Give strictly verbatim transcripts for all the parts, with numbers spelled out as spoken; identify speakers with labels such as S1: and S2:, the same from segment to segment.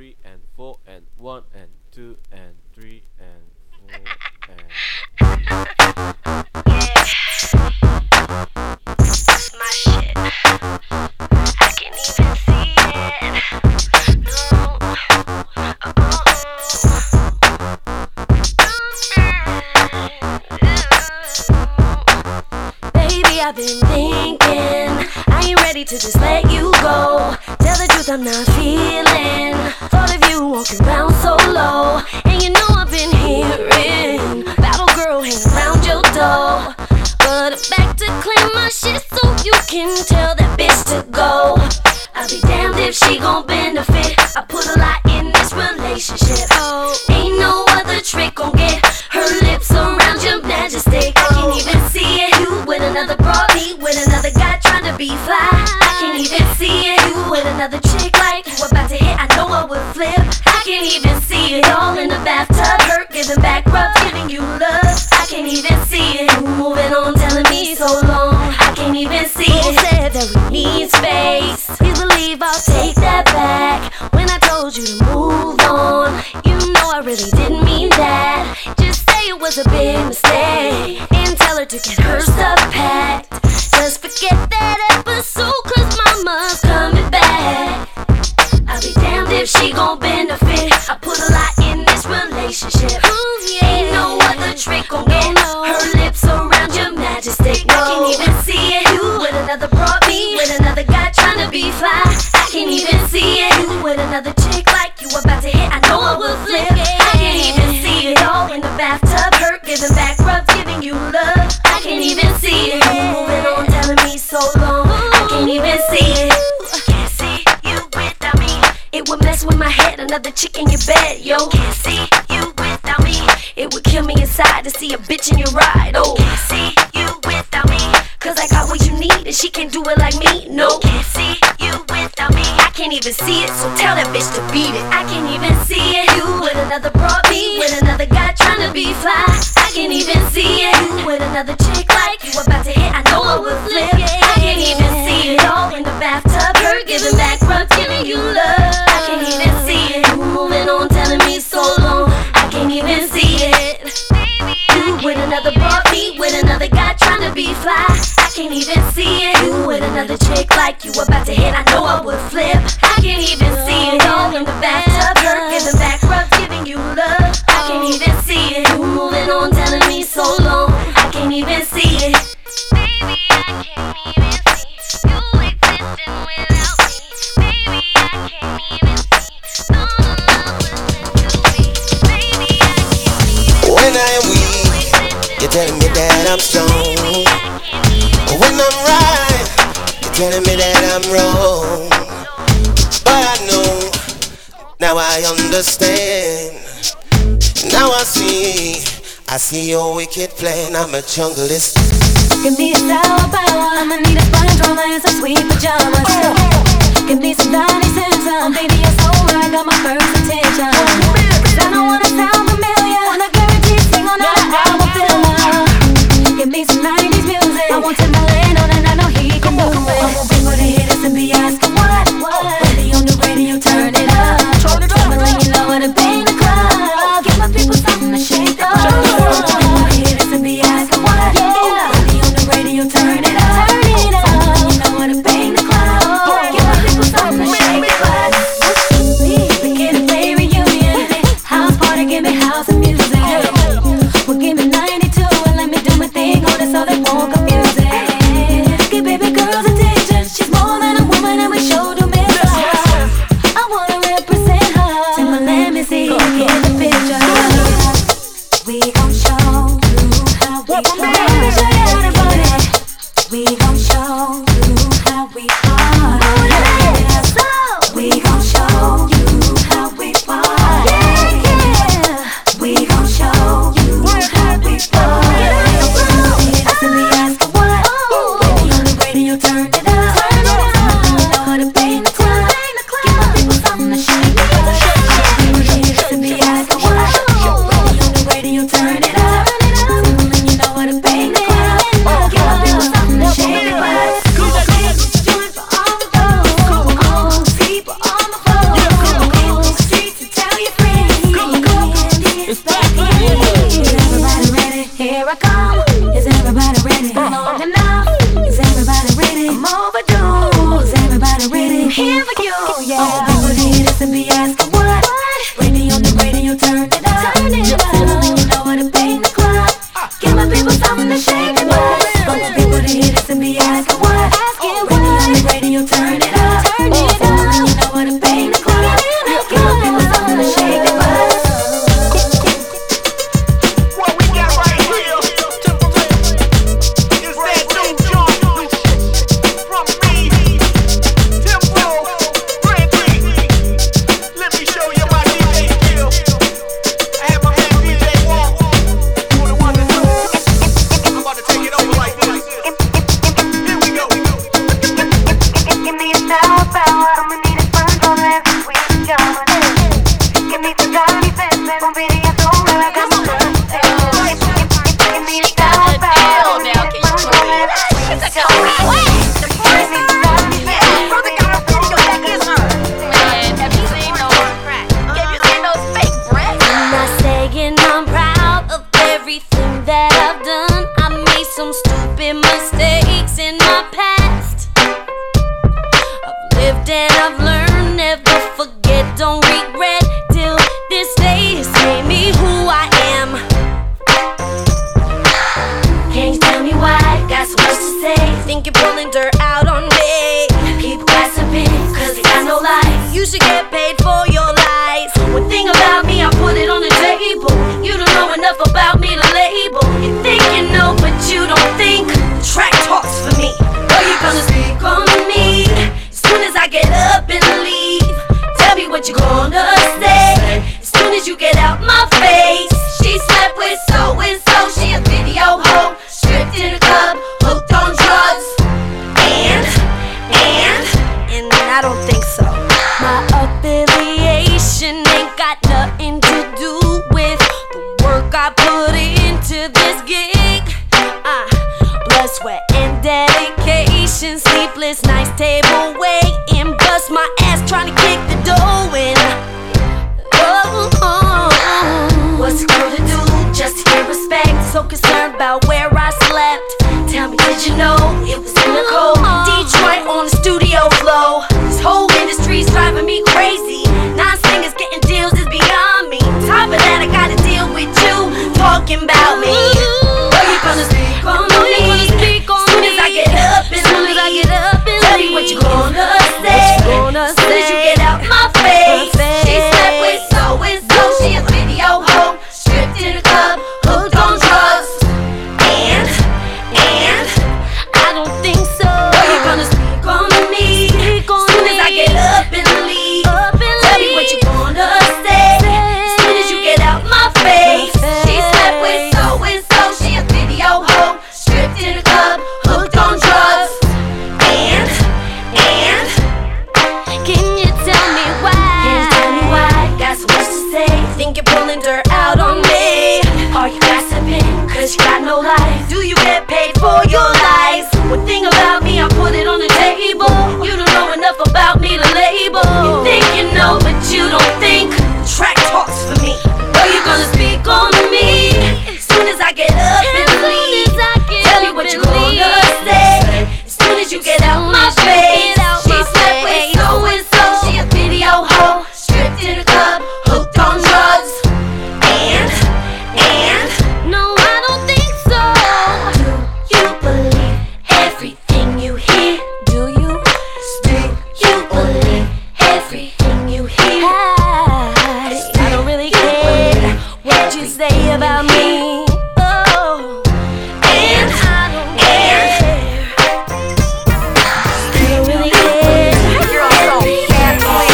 S1: three and four and one and two and three and four and
S2: my shit. I can even see it. No. Oh. Baby, I've been thinking I ain't ready to just let you go. Tell the truth, I'm not feeling thought of you walking around so low. And you know I've been hearing battle girl hang around your door. But I'm back to clean my shit so you can tell that bitch to go. I'll be damned if she gon' benefit. I put a lot in this relationship. Oh, ain't no other trick gon' get her lips around your majesty. I can't even see it. You with another broad, me with another guy trying to be fly. I can't even see it. You with another chick like you about to hit. I know I would flip. I can't even see it. All in the bathtub, hurt, giving back rubs, giving you love. I can't even see it. You moving on, telling me so long. I can't even see it. Who said that we need space? Please believe I'll take that back. When I told you to move on, you know I really didn't mean that. Just say it was a big mistake and tell her to get her stuff packed. Just forget that episode, cause mama's coming back. I'll be damned if she gon' benefit. I put a lot in this relationship. Ooh, yeah. Ain't no other trick gon' get her lips around your majesty. I can't even see it. You with another broad, me with another guy trying to be fly. I can't even see it. You with another chick like you about to hit. I know I will flip. I can't even see it. All in the bathtub, hurt, giving back rubs, giving you love. I can't even see it. You moving on, telling me so long. I can't even see it. Can't see you without me. It would mess with my head, another chick in your bed, yo. Can't see you without me. It would kill me inside to see a bitch in your ride, oh. Can't see you without me, cause I got what you need and she can't do it like me, no. Can't see you without me. I can't even see it, so tell that bitch to beat it. I can't even see it. You with another broad, me with another guy trying to be fly. I can't even see it. You with another chick like you about to hit. I know I would flip. I can't even see it. All in the bathtub, her giving back rubs, giving you love. I can't even see it. You moving on, telling me so long. I can't even see it. You with another broad, me with another guy trying to be fly. I can't even see it. You with another chick like you about to hit. I know I would flip. I can't even see it. All in the bathtub, her giving back rubs, giving you love. I can't even see it. You moving on, telling me so long. I can't even see it. Baby, I can't even see you existing without me. Baby, I can't even see. No, no, no, listen to me. Baby, I can't even.
S3: When I am weak, you're telling me that I'm strong. When I'm right, you're telling me that I'm wrong. But I know, now I understand. Now I see, I see your wicked plan. I'm a junglist.
S2: Give me a sour power. I'ma need a sponge roller and some sweet pajamas. Give me some Donnie Simpson. Baby, it's alright, got my first attention. Cause I don't wanna sound familiar. Wanna guarantee sing on all the album filler. Give me some nineties music. I want Timberland on and I know he can do it. I won't be for the hitters and be asking what, what. Ready on the radio, turn it up. Timberland, you know what to be in the club. Give my people something to shake up. I won't be for the hitters and be asking what, yeah. Ready on the radio, turn it up. Timberland, you know what to be in the club. Give my people something to shake up. We get a play reunion. House party, give me house and music. Well, give me ninety-two and let me do my thing on it so they won't confuse it. Give baby girls attention. She's more than a woman and we sure do miss her. lived and I've learned. Never forget, don't regret. Till this day has made me who I am. Can you tell me why? Got so much to say. Think you're pulling dirt out on me. People gossiping, cause they got no lies. You should get paid for your lies. One thing about me, I put it on the table. You don't know enough about me to label. You think you know, but you don't think. The track talks for me. Are you gonna speak on me? As soon as I get up and leave, tell me what you gonna say. As soon as you get out my face. She slept with so and so. She a video hoe, stripped in a club, hooked on drugs. And, and, and I don't think so. My affiliation ain't got nothing to do with the work I put into this gig. Uh, blood, sweat, and dedication. Sleepless nights, table waiting. Bust my ass trying to kick the dough in. Oh, oh, oh. What's it gonna do just to get respect? So concerned about where I slept. Tell me, did you know it was in the cold Detroit on the studio floor? This whole industry's driving me crazy. Non-singers getting deals is beyond me. Top of that, I gotta deal with you talking about me. Are you gonna speak on me? As soon as I get up and leave, tell me what you gonna say. As soon as you get out my face. She slept with so and so. She a video hoe, stripped in a club, hooked on drugs. And, and, I don't think so. Are you gonna speak on me? As soon as I get up and leave, tell me what you gonna say. As soon as you get out my face. She slept with so and so. She a video hoe, stripped in a club, hooked on drugs. And, and, can you tell me why? Can you tell me why? Got so much to say. Think you're pulling dirt out on me. Are you gossiping? Cause you got no life. Do you get paid for your lies? One thing about me, I put it on the table. You don't know enough about me to label. You think you know, but you don't think. The track talks for me. Are you gonna speak on me? As soon as I get up and leave, tell me what you gonna say. As soon as you get out my face. She slept with so and so. She a video hoe, stripped in a club, hooked on drugs. And, and, no, I don't think so. Do you believe everything you hear? Do you? Do you believe everything you hear? I, I don't really care what you say about me. Oh, and I don't care. I don't really care. You're so bad boy.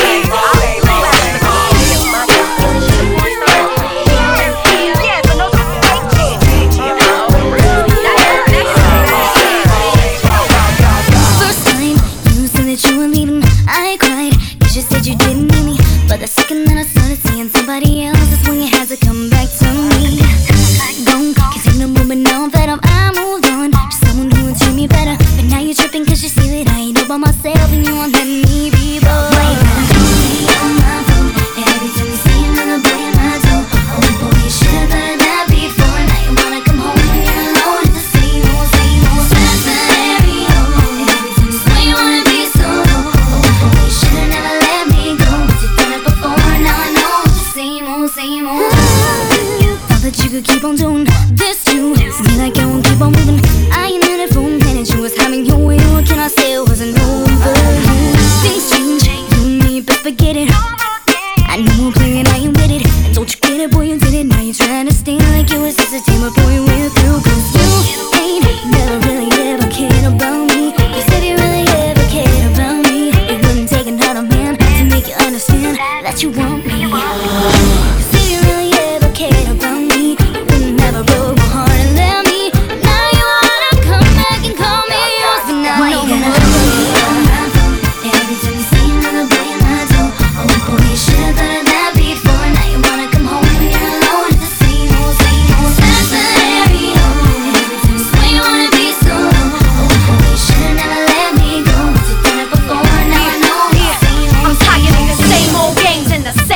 S4: First time you said that you were leaving, I cried. You just said you didn't need me. But the second that I started seeing somebody else, that's when you had to come back to me. Gone, can't take no more, but now I'm fed up, I moved on to someone who would treat me better. But now you're tripping cause you see that I ain't all by myself, and you won't let me be bold. Why you gotta call me on my phone? And every time you see another boy in my door, oh boy, you should've thought of that before. Now you wanna come home when you're alone. It's the same old, same old scenario. And every time you say you wanna be solo, oh boy, you should've never let me go. Cause you've done it before, now I know it's the same old, same old. Thought that you could keep on doing this too. Me like I won't keep on moving. I ain't in it for a minute. You was having your way. What can I say? It wasn't over. Things change. You and me, but forget it. I know I'm playing, I ain't with it. And don't you get it, boy, you did it. Now you're trying to stay like it was just a team, but boy, you went through. Cause you ain't never really ever cared about me. Cause if you really ever cared about me, it wouldn't take another man to make you understand that you want me. Cause if you really ever cared about me, you wouldn't never broke my heart and let me. Now you wanna come back and call me yours, but now I know more. Every time you see another boy in my door, oh boy, you should've thought of that before. Now you wanna come home when you're alone. It's the same old, same old scenario. And every time you say you wanna be solo, oh boy, you should've never let me go. Cause you've done it before, now I know it's the same old,
S2: I'm tired of the same old games and the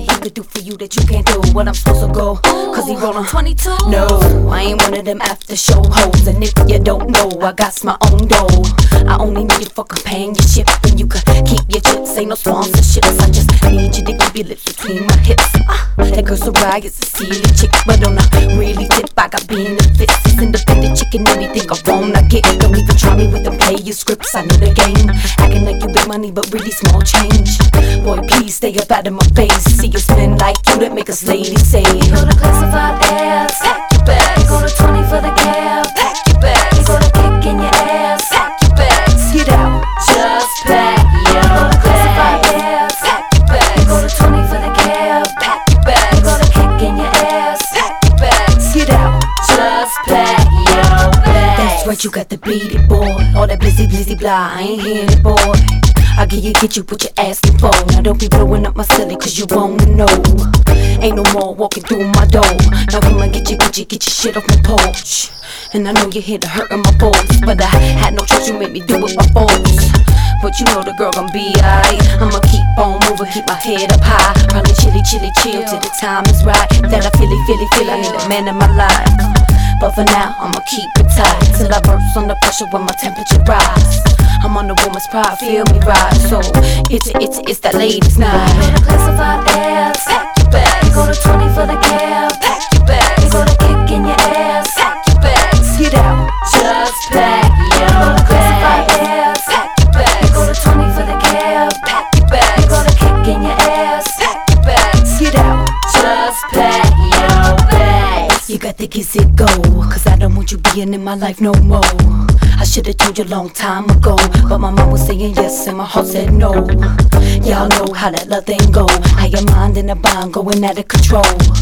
S5: he could do for you that you can't do? What I'm supposed to go? Cause he rollin'
S2: twenty-two.
S5: No, I ain't one of them after show hoes. And if you don't know, I got my own dough. I only need you for companionship, and you could keep your chips. Ain't no sponsorships. I just need you to keep your lips between my hips. Ah, that girl Soraya is a silly chick, but on a really tip, I got benefits. This independent chicken, anything I wanna get. Don't even try me with them player scripts. I know the game. Acting like you big money, but really small change. Boy, please stay up out of my face. See you spin like you that make us ladies say.
S2: You go to classified ass, pack your bags. You go to twenty for the cab, pack your bags. You go to kick in your ass, pack your bags.
S5: Get out,
S2: Just pack your bags. You go to classified ass, pack your bags. You go to twenty for the cab, pack your bags. You go to kick in your ass, pack your bags.
S5: get out.
S2: Just pack your bags.
S5: That's right, you got to beat it, boy. All that blizzy blizzy blah, I ain't hearing it, boy. I get you, get you what you're asking for. Now don't be blowing up my silly cause you wanna know. Ain't no more walking through my door. Now come and get you, get you, get your shit off my porch. And I know you're here to hurt my voice, but I had no choice, you made me do it by force. But you know the girl gon' be alright. I'ma keep on moving, keep my head up high. Probably chilly, chilly, chill till the time is right. That I feel it, feel it, feel I need a man in my life. But for now, I'ma keep it tight till I burst under pressure when my temperature rise. I'm on the woman's pride, feel me rise. So it's a, it's a, it's that ladies' night.
S2: You go to classified ass, pack your bags. You go to twenty for the cab, pack your bags. You go to kick in your ass, pack your bags.
S5: Get out,
S2: Just pack your classified ass, pack your bags. You go to twenty for the cab, pack your bags. You go to kick in your ass, pack your bags.
S5: get out.
S2: Just pack your bags.
S5: You got to get it go, cause I don't want you being in my life no more. I should've told you a long time ago, but my mom was saying yes and my heart said no. Y'all know how that love thing go. How your mind in a bind going out of control.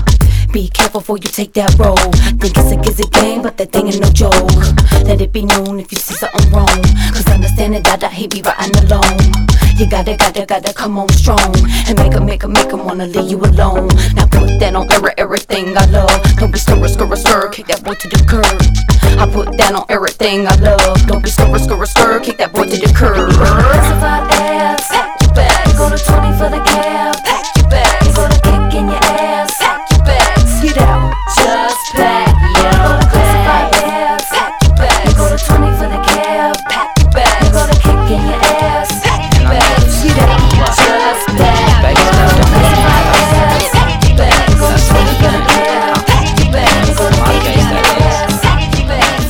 S5: Be careful before you take that role. Think it's a gizzy game, but that thing ain't no joke. Let it be known if you see something wrong, cause understanding that I hate be riding alone. You gotta, gotta, gotta come on strong and make 'em, make 'em, make 'em wanna leave you alone. Now put that on every, everything I love. Don't be stir, stir, stir, kick that boy to the curb. I put that on everything I love. Don't be stir, stir, stir, kick that boy to the curb.
S2: Classified ass, pack your bags. You go to twenty for the cab, pack your bags. You go to kick in your ass, pack your bags.
S5: Get out,
S2: Just pack your classified ass, pack your bags. You go to twenty for the cab, pack your bags. You go to kick in your ass, pack your bags.
S5: get out.
S2: Just pack your classified ass, pack your bags. You go to twenty for the cab, pack your bags. You go to kick in your ass, pack your bags.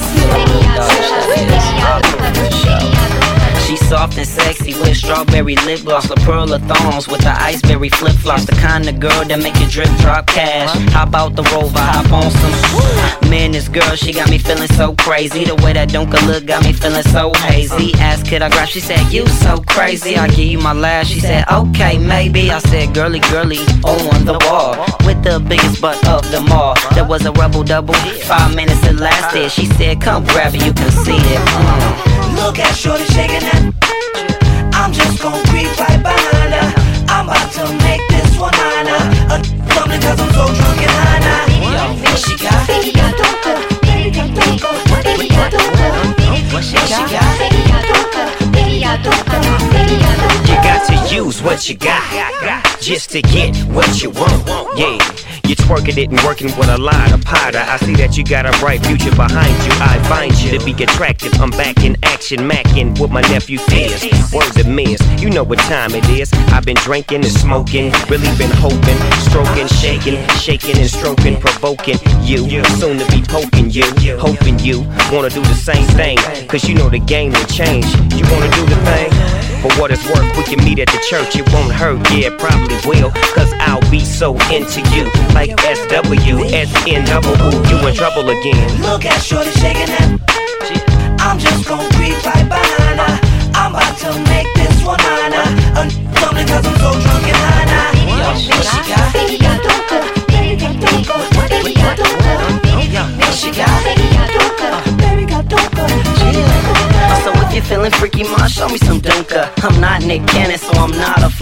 S6: She's soft and sexy with strawberry lip gloss, the pearl of thorns with the iceberry flip flops, the kind of girl that make you drip drop cash. Hop out the Rover, hop on some. Man, this girl, she got me feeling so crazy. The way that Dunka look got me feeling so hazy. Asked could I grab, she said you so crazy. I give you my last, she said okay maybe. I said girly girly on the wall with the biggest butt of them all. There was a rebel double, five minutes it lasted. She said come grab it, you can see it. Mm.
S7: Look at shorty shaking that. I'm just gon' creep right behind her. I'm about to make this one mine. Uh, something cause I'm so drunk and high now. What she got?
S4: Baby got dope, baby got dope, baby got dope.
S6: What she got?
S4: Baby got dope, baby got dope, baby got dope.
S8: You got to use what you got just to get what you want. Yeah, you're twerking it and working with a lot of powder. I see that you got a bright future behind you. I find you to be attractive. I'm back in action, macking with my nephew Fizz. Words of Miz, you know what time it is. I've been drinking and smoking, really been hoping, stroking, shaking, shaking and stroking, provoking you. Soon to be poking you, hoping you wanna do the same thing. Cause you know the game will change. You wanna do the thing? For what it's worth, we can meet at the church. It won't hurt, yeah, it probably will. Cause I'll be so into you. Like S W, S N double O, you in trouble again.
S7: Look at shorty shaking that. I'm just gon' creep right behind her. I'm about to make this one mine. Uh, something cause I'm so drunk and high now. What she got?
S4: Baby got dope, baby got dope, baby got dope.
S7: What she got?
S4: Baby got dope, baby got dope.
S6: So if you're feeling freaky, ma, show me some Dunka. I'm not Nick Cannon, so I'm not a fly.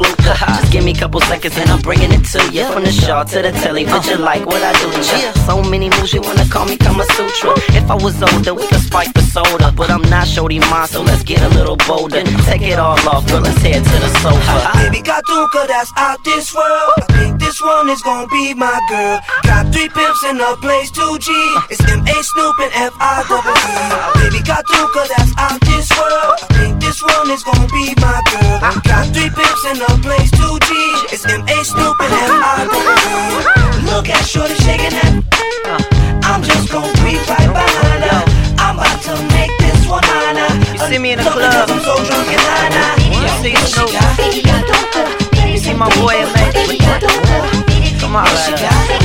S6: fluke. Just give me a couple seconds and I'm bringing it to you. From the shawl to the telly, but you like what I do to you. So many moves, you wanna call me Kama Sutra. If I was older, we could spike the soda. But I'm not Shorty Ma, so let's get a little bolder. Take it all off, girl, let's head to the sofa.
S7: Baby got Duka, that's out this world. I think this one is gonna be my girl. Got three pimps in the place, two G. It's M A Snoop and F I double E. Baby got Duka, that's out this world. I think this one is gonna be my girl. Got three pimps in the place, two G. It's M A Snoop and F I double E. Look at Shorty shaking that. I'm just gonna creep right behind her. I'm about to make this one honor.
S6: You see me in the club,
S7: I'm so drunk and high.
S6: you see Snoop, you see my boy M A. Come on, man.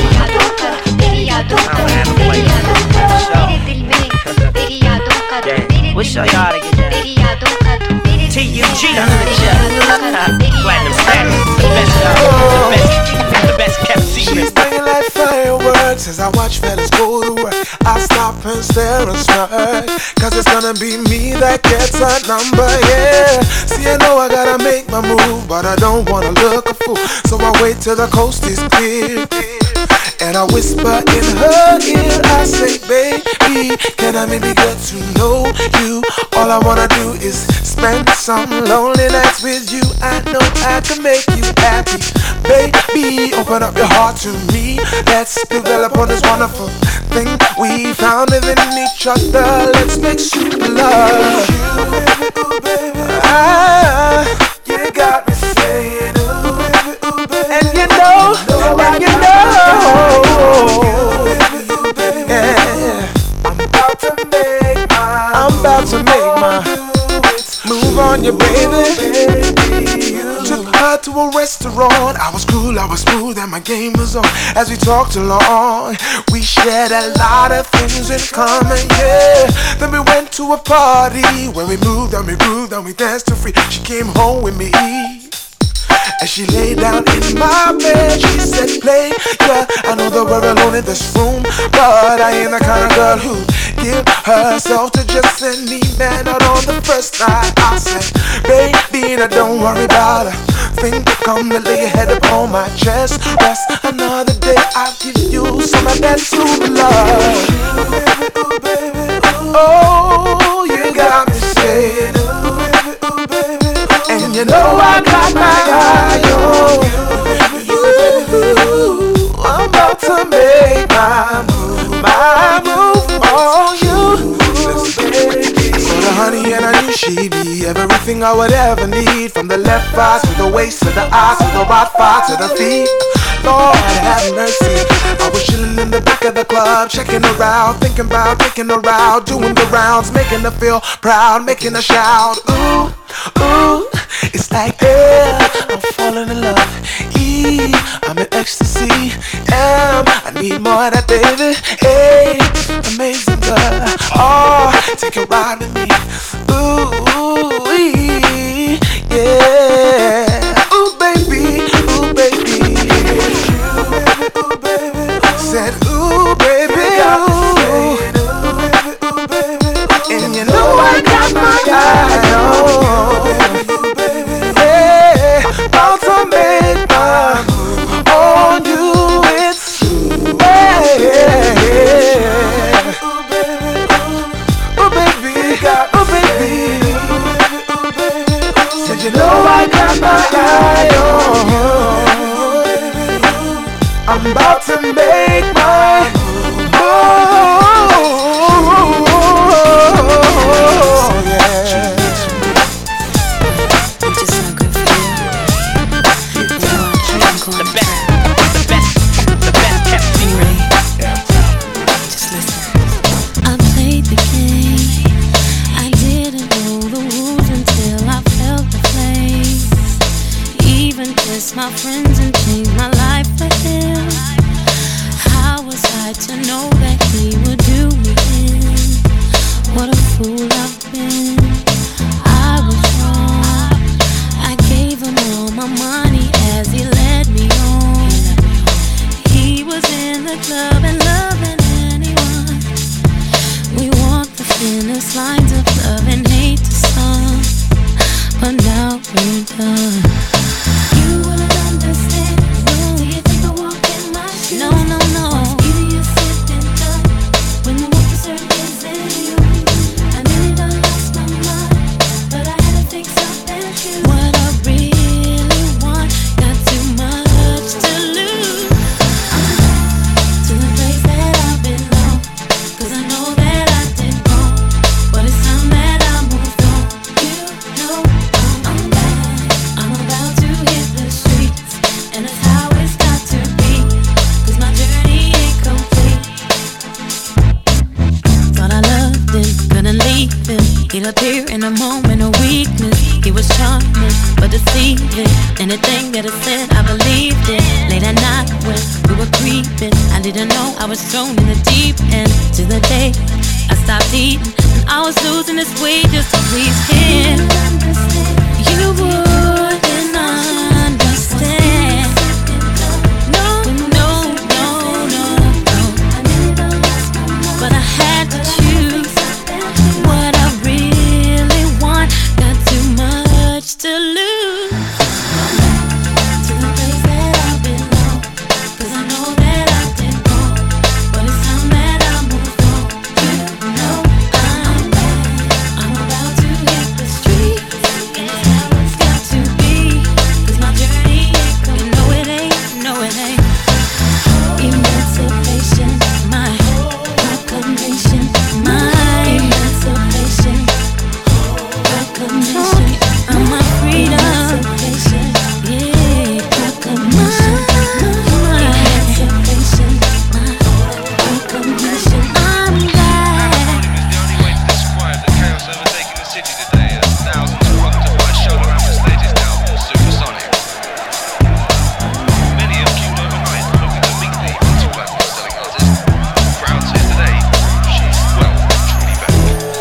S6: We'll show you how to get that. T U G Platinum status. The best, the best, the best kept secret.
S9: She's banging like fireworks as I watch fellas go to work. I stop and stare and smirk, cause it's gonna be me that gets a number, yeah. See, I know I gotta make my move, but I don't wanna look a fool, so I wait till the coast is clear. And I whisper in her ear, I say, baby, can I maybe get to know you? All I wanna do is spend some lonely nights with you. I know I can make you happy. Baby, open up your heart to me. Let's develop on this wonderful thing we found within each other. Let's make sweet love. Ooh, baby, ah, you got me saying, ooh, baby, ooh, baby. And you know, and you know, yeah, I'm about to make my, I'm about to make my move on you, baby. Took her to a restaurant. I was cool, I was smooth, and my game was on. As we talked along, we shared a lot of things in common, yeah. Then we went to a party where we moved and we grooved and we danced to free. She came home with me. As she lay down in my bed, she said, play, yeah. I know that we're alone in this room, but I ain't the kind of girl who give herself to just any man out on the first night. I said, baby, now don't worry about a thing. Come to lay your head upon my chest. Rest another day, I'll give you some of that sweet love. Ooh, baby, ooh, oh, you got me saying, ooh, baby, ooh, baby, ooh. And you know I got my eye on you. I'm about to make my move, my move on you. So the honey and I knew she'd be everything I would ever need. From the left eye to the waist, to the eyes, to the right thigh, to the feet. Lord have mercy. I was chilling in the back of the club, checking her out, thinking about taking her out, doing the rounds, making her feel proud, making her shout. Ooh, ooh, it's like yeah, I'm falling in love. E, I'm in ecstasy. M, I need more of that, baby. A, amazing girl. R, take a ride with me. Ooh, E, yeah. Ooh, baby, ooh, baby. Ooh, baby, said, ooh, baby, ooh. And you know I got my eye on. Yeah, about to make my move on you. It's, yeah, yeah. Ooh, baby, got, ooh, baby. Said you know I got my eye on you. I'm about to make my move. Oh, yeah.
S5: I'm just so good for you. You know I'm going
S6: The best, the best, the best kept secret.
S5: Just listen. I played the game. I didn't know the rules until I felt the flames. Even kissed my friends and changed my life for him. How was I to know that he would do me in? What a fool I've been. I was wrong. I gave him all my money as he led me on. He was in the club and loving anyone. We walked the thinnest lines of love and hate to some, but now we're done.
S10: He'll appear in a moment of weakness. He was charming, but deceiving. Anything that I said, I believed it. Late at night when we were creeping, I didn't know I was thrown in the deep end. To the day I stopped eating, and I was losing this weight just to please him. You wouldn't understand. No, no, no, no, no. But I had to choose what I really want. Got too much to lose. To the place that I belong, 'cause I know that I did wrong. But it's time that I move on. You know I'm back. I'm about to hit the street, and it's how it's got to be. 'Cause my journey ain't come. You know it ain't, no it ain't. Emancipation, my proclamation, my emancipation, proclamation, I'm my freedom, yeah, proclamation, my emancipation, my proclamation, I'm back.
S11: The only way to describe the chaos overtaking the city today as thousands flocked to watch shoulder ramp stages now supersonic. Many have queued overnight looking to meet the multi-platinum selling artist. Proud to say today, she's well and truly back.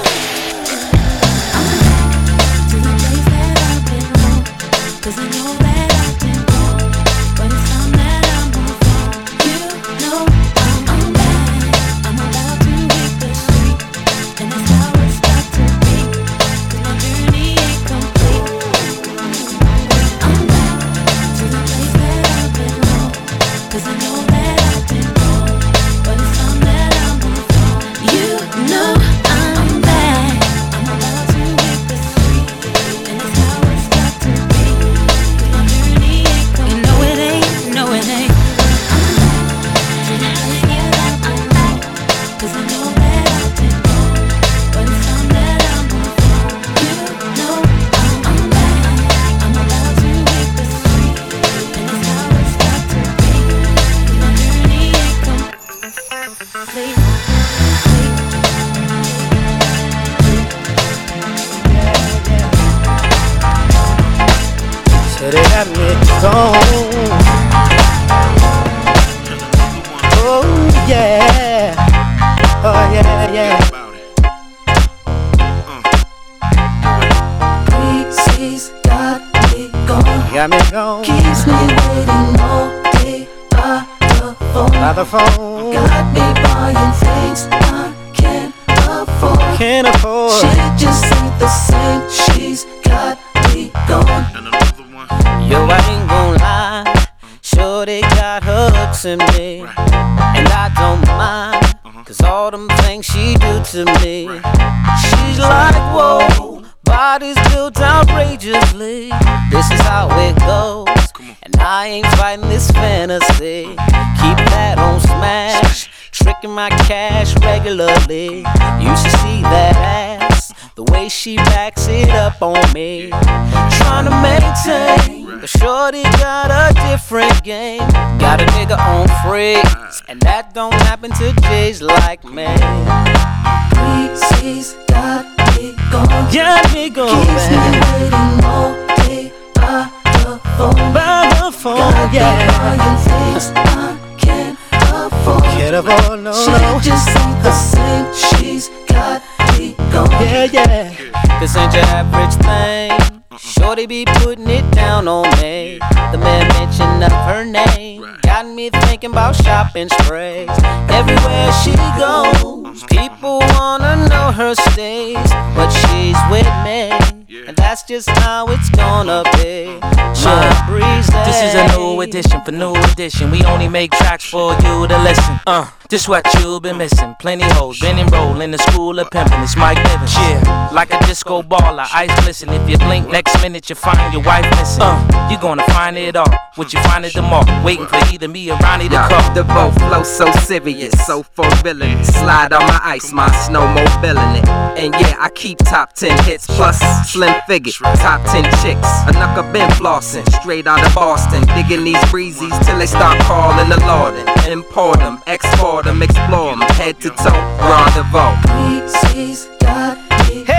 S10: To the place that I belong, 'cause I know that I did wrong. But it's time that I move on. You know I'm back. I'm about to hit the street, and that's how it's got to be. 'Cause my journey ain't complete. I'm back to the place that I belong, 'cause I know that I did wrong. But it's time that I move on. You know I'm back. I'm about to hit the street, and that's how it's got to be. 'Cause my journey ain't complete. You know it ain't, no it ain't. I'm back to the place that I'm back, 'cause I know that I did wrong. But it's time that I move on. You know I'm back. I'm about to hit the street, and that's how it's got to be. 'Cause my journey ain't complete.
S12: So they got me gone. Oh yeah, oh yeah, yeah.
S5: Reese's got me gone.
S12: Got me gone.
S5: Keeps me waiting all day by the phone.
S12: By the phone.
S5: Got me buying things I can't afford.
S12: Can't afford.
S5: She just ain't the same. She's got me gone.
S6: Yo, I ain't gon' lie, shorty got her hooks in me, and I don't mind, 'cause all them things she do to me. She's like, whoa, body's built outrageously. This is how it goes, and I ain't fighting this fantasy. Keep that on smash, tricking my cash regularly. You should see that ass, the way she backs it up on me. Trying to maintain, but shorty got a different game. Got a nigga on freeze, and that don't happen to J's like me.
S5: Reese's got me gone.
S12: Got me gone.
S5: Keeps me waiting all day by the phone.
S12: By the phone,
S5: got
S12: yeah.
S5: me buying things I can't afford.
S12: Can't afford, no,
S5: she
S12: no.
S5: just ain't the same. She's got me gone.
S12: Yeah, yeah.
S6: This ain't your average thing. Shorty be putting it down on me. The man mention of her name got me thinking about shopping sprays. Everywhere she goes, people wanna know her stays, but she's with me, and that's just how it's gonna be. My breeze.
S13: This is a new edition for new edition. We only make tracks for you to listen. Uh, this what you've been missing. Plenty hoes been enrolled in the school of pimping. It's Mike Nivens. Yeah, like a disco baller, eyes glisten. If you blink, next minute you find your wife missing. Uh, you gonna find it all. Would you find it tomorrow? Waiting for either me or Ronnie to call.
S14: The boat flow so serious, so fulfilling. Slide on my ice, my snowmobiling it. And yeah, I keep top ten hits plus slim figure, top ten chicks. A knuckle been flossing, straight out of Boston. Digging these breezies till they start calling the Lorden. Import them, export them, explore them, head to toe, rendezvous.
S5: Reese's got me.
S12: Hey.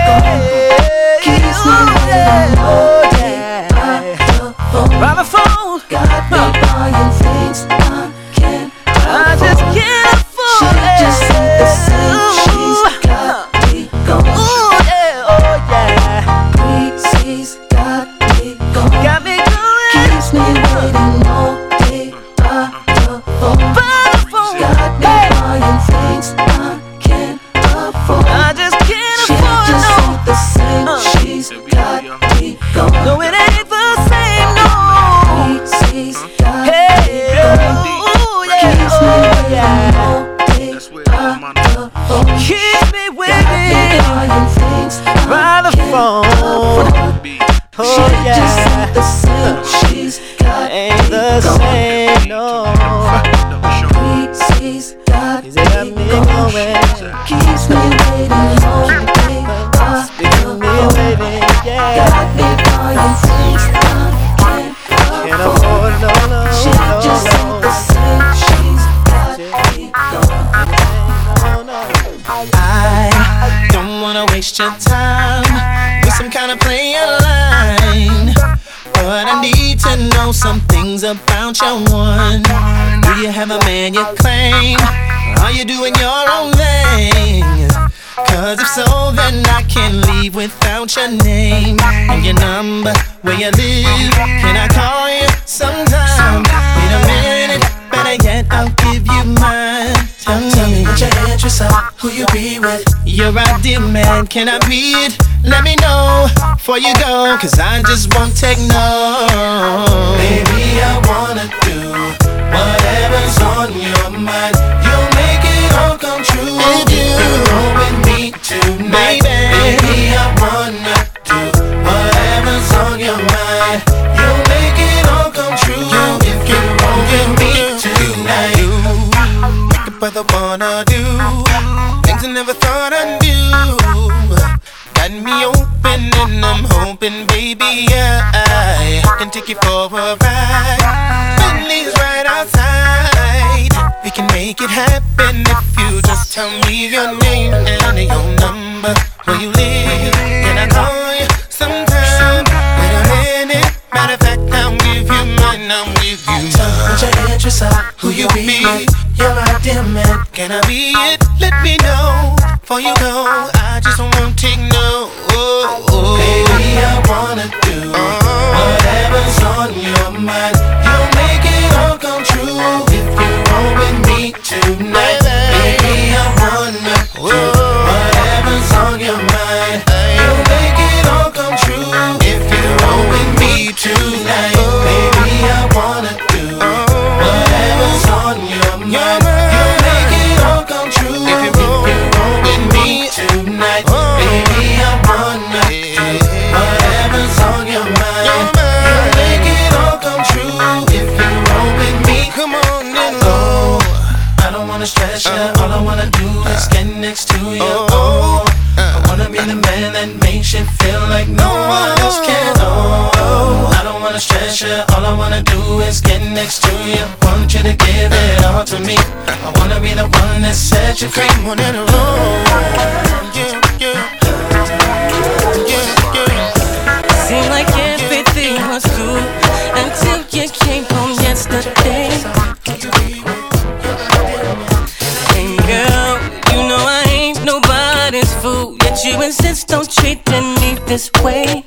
S5: Keeps me waiting all day by the phone. Got me buying things I can't afford. I just can't afford it. She just said the same. She's got me going. Ooh yeah, oh yeah. Breezy's got me going. Got me going. Keeps me waiting all day by the phone. By the phone. Got me buying things I can't afford. I just can't she afford. She just no. said the same. Uh. She's got me going. No, it ain't the same. No. Breezy's got hey, me going. Ooh yeah, keeps oh me yeah. All day by the phone. Keeps me waiting by the phone. Oh she yeah. Just said the same. She's got ain't the same. No. Breezy's got me going. Keeps me waiting all day by the phone. Yeah. Got me buying things I can't afford. No, no, she no, just no. said the same. She's got me going.
S3: I don't wanna waste your time with some kind of player line, but I need to know some things about your one. Do you have a man you claim? Are you doing your own thing? Cause if so, then I can't leave without your name and your number, where you live. Can I call you sometime? Wait a minute, better yet, I'll give you mine. Tell me, Tell me what your interests are, who you be with. Your ideal man, can I be it? Let me know before you go, cause I just won't take no. Baby, I wanna do whatever's on your mind. You'll make it all come true if you roll with me tonight. Baby, I wanna do whatever's on your mind. You'll make it all come true if you roll with me tonight. Make a brother wanna do things I never thought I'd do. Got me open and I'm hoping, baby, I can take you for a ride. Bentley's right outside. We can make it happen if you just tell me your name and your number, where you live. Can I call you sometime? Wait a minute. Matter of fact, I'll give you mine. I'll give you mine. Tell me what your interests are, who you be. You're my dear man. Can I be it? Let me know before you go. I just won't take no. Oh, oh. Baby, I wanna do whatever's on your mind. You'll make it all come true if you roll with me tonight. Baby, I wanna do whatever's on your mind. You'll make it all come true if you roll with me tonight. Baby, I wanna do whatever's on your mind. You'll make it all come true if you roll with me tonight. Baby, I wanna do whatever's on your mind. You'll make it all come true if you roll with me. Come on and roll. I don't wanna stress you. All I wanna do is get next to you. Oh, I wanna be the man that makes you feel like no one else can. Oh, I don't wanna stress you. All I wanna do is get next to you. Want you to give it all to me. I wanna be the one that sets you free. Come on and roll. Yeah, yeah. Yeah, yeah.
S15: Seemed like everything was cool until you came home yesterday. Hey girl, you know I ain't nobody's fool, yet you insist on treating me this way.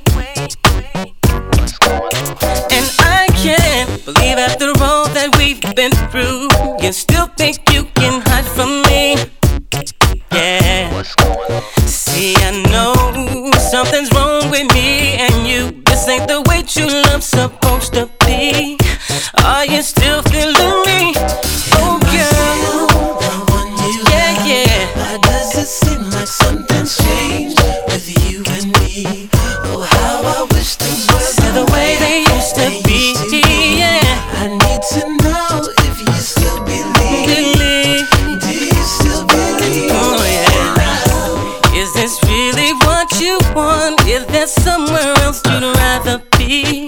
S15: And I can't believe after all that we've been through, you still think you can hide from me. Yeah. See, I know something's wrong with me and you. This ain't the way true love's supposed to be. Are you still feeling me? Oh girl, yeah, yeah.
S3: Why does it seem like something's changed with you and me? Oh, how I wish things were
S15: See the way they used to be, yeah.
S3: I need to know if you still believe.
S15: Believe.
S3: Do you still believe?
S15: Oh yeah. Is this really what you want? Is there somewhere else you'd rather be?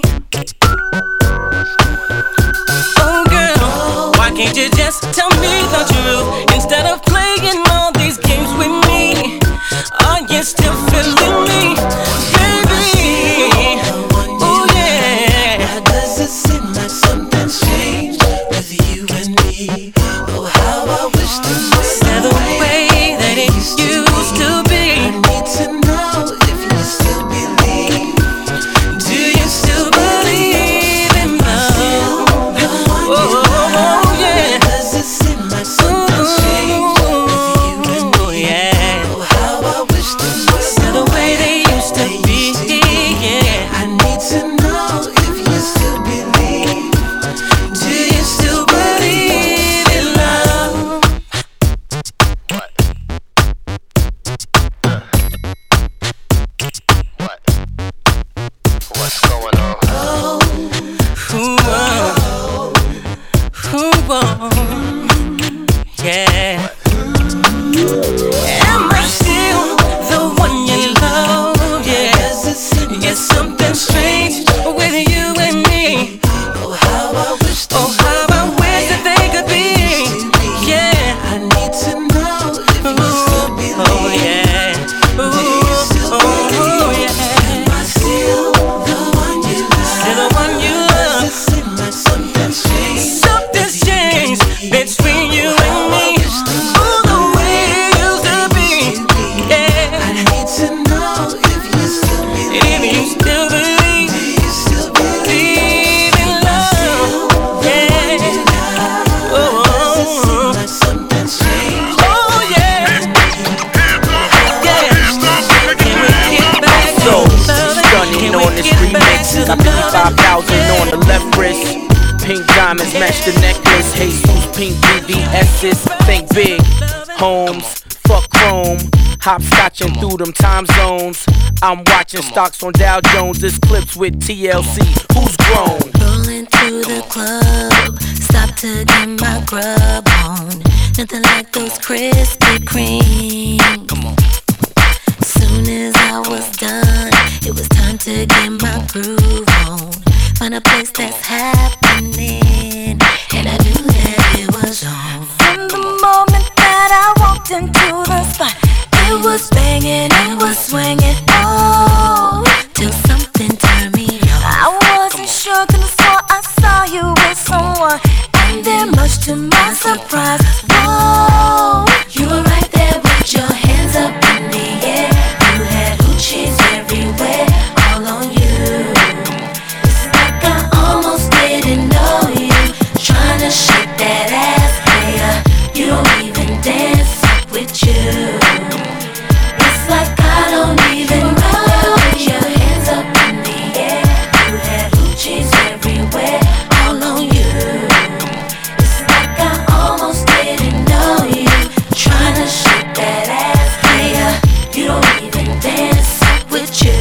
S15: Oh girl, why can't you just tell me the truth instead of playing all these games with me? Are you still feeling Oh, how I wish the way that it used to be. I need to know if you still believe. Do you still believe in love? Oh, oh, oh yeah. Does it seem like something changed with you and me? Yeah. Oh, how I wish the way they used to be. Yeah. I need to know if you still believe. Do you still believe in love? What? What? What's going on? Oh, ooh, oh, ooh, oh, yeah. Am I still the one you love? Yeah. It's something strange with you and me. Oh, how I wish, oh, how I wish that they could be. Yeah. I need to know if you still believe. Oh, yeah. Ooh, oh, yeah. Am I still the one you love? Still the one you love. Does it seem like something's changed? Something's changed between you and me. Oh, the way it used to be. Yeah. I need to know if you still believe. If you still believe. Do you still believe in love? Yeah. Oh, does it seem like something's changed? Oh, yeah. Yeah. Can we get back to
S13: So,
S15: love?
S13: stunning
S15: Can
S13: on
S15: we
S13: this
S15: get back
S13: remix.
S15: to
S13: Got fifty-five thousand on the left wrist. Pink diamonds match the necklace. Jesus, pink B B S's. Think big. Homes, fuck chrome. Hopscotching through them time zones. I'm watching stocks on Dow Jones. This clips with T L C. Who's grown?
S10: Rolling through the club, stop to get my grub on. Nothing like those Krispy Kreme. Come on. Soon as I was done, it was time to get my groove on. Find a place that's happening, and I knew that it was on. From the moment that I walked into the spot, it was banging, it was swinging, oh, till something turned me on. I wasn't sure, could've swore I saw you with someone, and then much to my surprise, whoa, you were right there with your hands up in the air. You had hoochies everywhere, all on you. It's like I almost didn't know you, trying to shake that ass, player. You don't even dance up with you. It's like I don't even know. Your hands up in the air. You had hoochies everywhere, all on you. It's like I almost didn't know you, trying to shake that ass, player. You don't even dance up with you.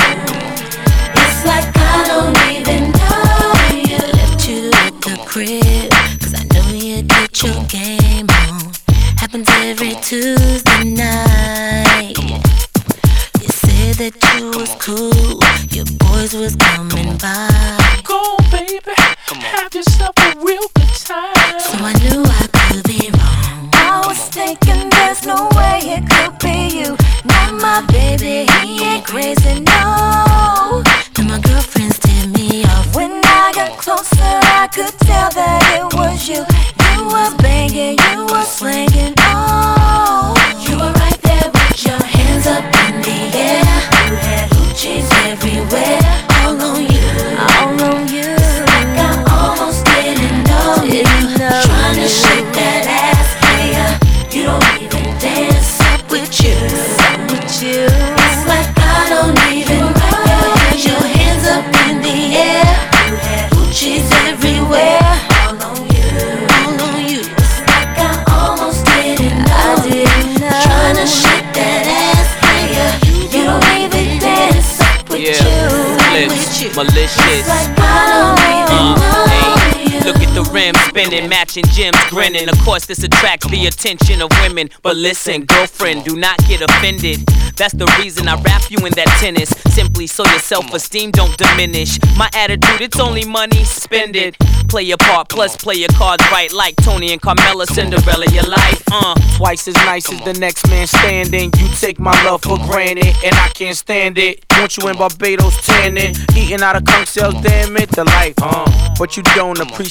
S10: It's like I don't even know you. Left you at the crib, cause I know you get your game on. Happens every Tuesday night. You said that you was cool, your boys was coming by.
S13: Go, baby, have yourself a real good time.
S10: So I knew I could be wrong. I was thinking there's no way it could be you. Not my baby, he ain't crazy, no. Then my girlfriends tipped me off. When I got closer, I could tell that it was you. You were banging, you were slinging, oh. You were right there with your hands up in the air. You had hoochies everywhere, all on you, all on you. It's like I almost didn't know you, trying to shake that ass, player. You don't even dance up with you, up with you. It's like I don't even know. Your hands up in the air. You had hoochies everywhere, all on you, all on you. It's like I almost didn't know. I didn't know. Trying to shake that ass, player. You don't even dance up with
S13: Yeah,
S10: you,
S13: flips,
S10: with you.
S13: malicious.
S10: It's like I don't even
S13: Uh,
S10: know
S13: hey,
S10: you.
S13: look at the rim spinning, matching gems grinning. Of course, this attracts the attention of women. But listen, girlfriend, do not get offended. That's the reason I wrap you in that tennis. Simply so your self-esteem don't diminish. My attitude, it's only money, spend it. Play your part, plus play your cards right. Like Tony and Carmella, Cinderella, your life, uh
S16: Twice as nice as the next man standing. You take my love for granted, and I can't stand it. Want you in Barbados tanning, eating out of conch shells, damn it, the life, uh But you don't appreciate what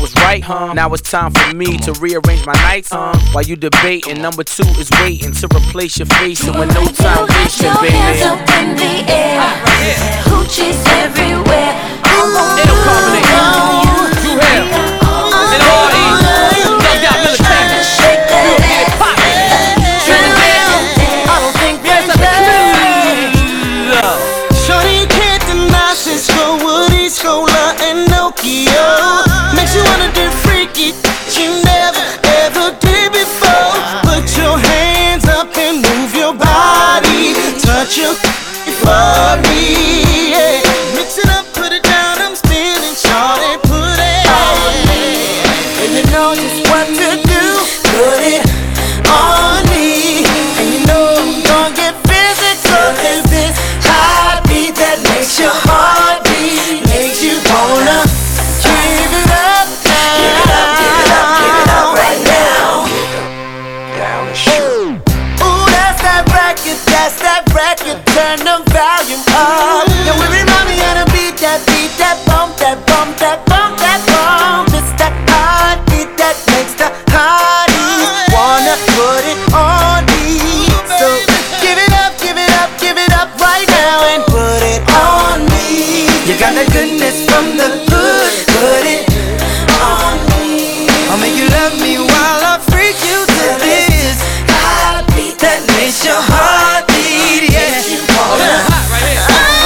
S16: was right. Huh? Now it's time for me to rearrange my nights. Uh, while you debating, number two is waiting to replace your face. And with no time wasting,
S2: Your
S16: baby.
S2: hands up in the air, hoochies everywhere. Come on,
S16: It'll carbonate. Drew Hill. And all these. They got military.
S2: shake that
S16: We'll get it
S2: ass.
S16: poppin'.
S12: I don't think there's a clue. Shorty, you can't deny Cisco, Woody, Scola, and Nokia. Makes you wanna do freaky you never ever did before. Put your hands up and move your body. Touch your for me. Yeah. Mix it up, put it down. I'm spinning, shorty, put it on me. And you know just what to do. Put it on me. And you know I'm gonna get physical. Cause this heartbeat that makes your heart beat makes you wanna give it up now.
S2: Give it up, give it up, give it up right now.
S12: Down the shoe. Ooh, that's that record, that's that record. Turn the volume up. Now we remind me how to beat that beat, that bump, that bump, that bump, that bump. It's that heartbeat that makes the hotties wanna put it on me. So give it up, give it up, give it up right now and put it on me. You got that goodness from the hood, put it on me. I'll make you love me while I freak you to this heartbeat that makes your heart beat. Yeah.
S16: Oh, this is hot right here.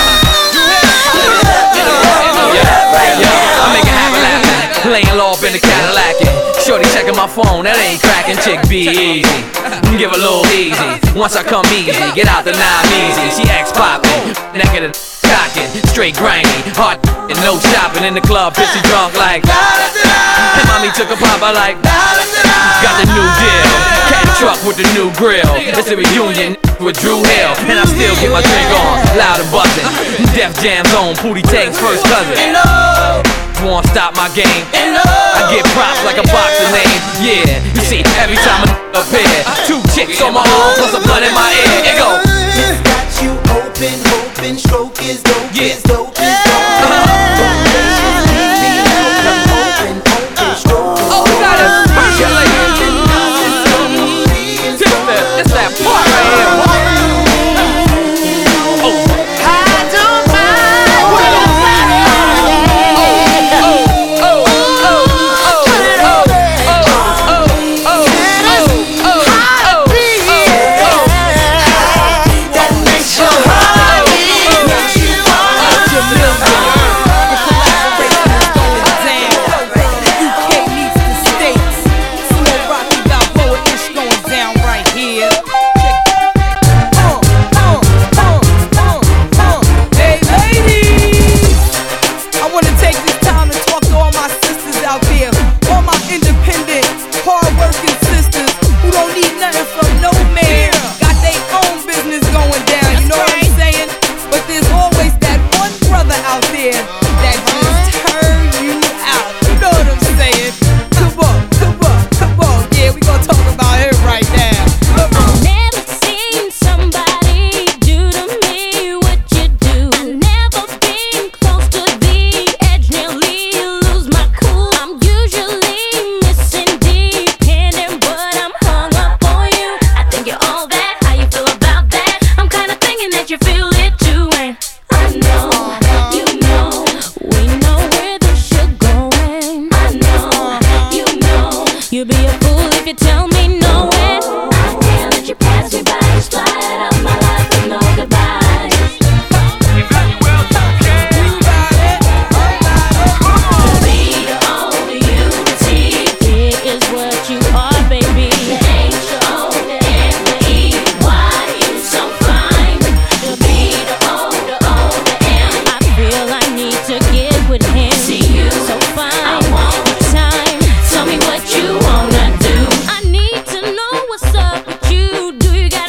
S16: I make it happen laughing. Laying low up in the Cadillac. Shorty checking my phone, that ain't cracking. Chick be easy. Give a little easy. Once I come easy, get out the nine easy. She ex poppin', naked and cockin', straight grimy, hot and no shopping in the club, pissy drunk like. And mommy took a pop, I like. Got the new deal, cat truck with the new grill. It's a reunion with Drew Hill, and I still get my drink on, loud and buzzing. Def Jam Zone, Pootie Tang's first cousin. Won't stop my game. I get props like a boxer name. Yeah, you see, every time I appear, two chicks on my arm plus a blunt in my ear. It go.
S12: It's got you open, open, stroke is dope,
S16: Yeah.
S12: is dope, is dope.
S16: Oh, we got it. It's that part right here. Oh.
S12: I don't mind.
S16: Oh, oh, oh, oh, oh, oh, oh, oh, oh,
S12: That makes your heart beat. Makes you wanna
S2: Tell me what you wanna do. I need to know what's up with you. Do you got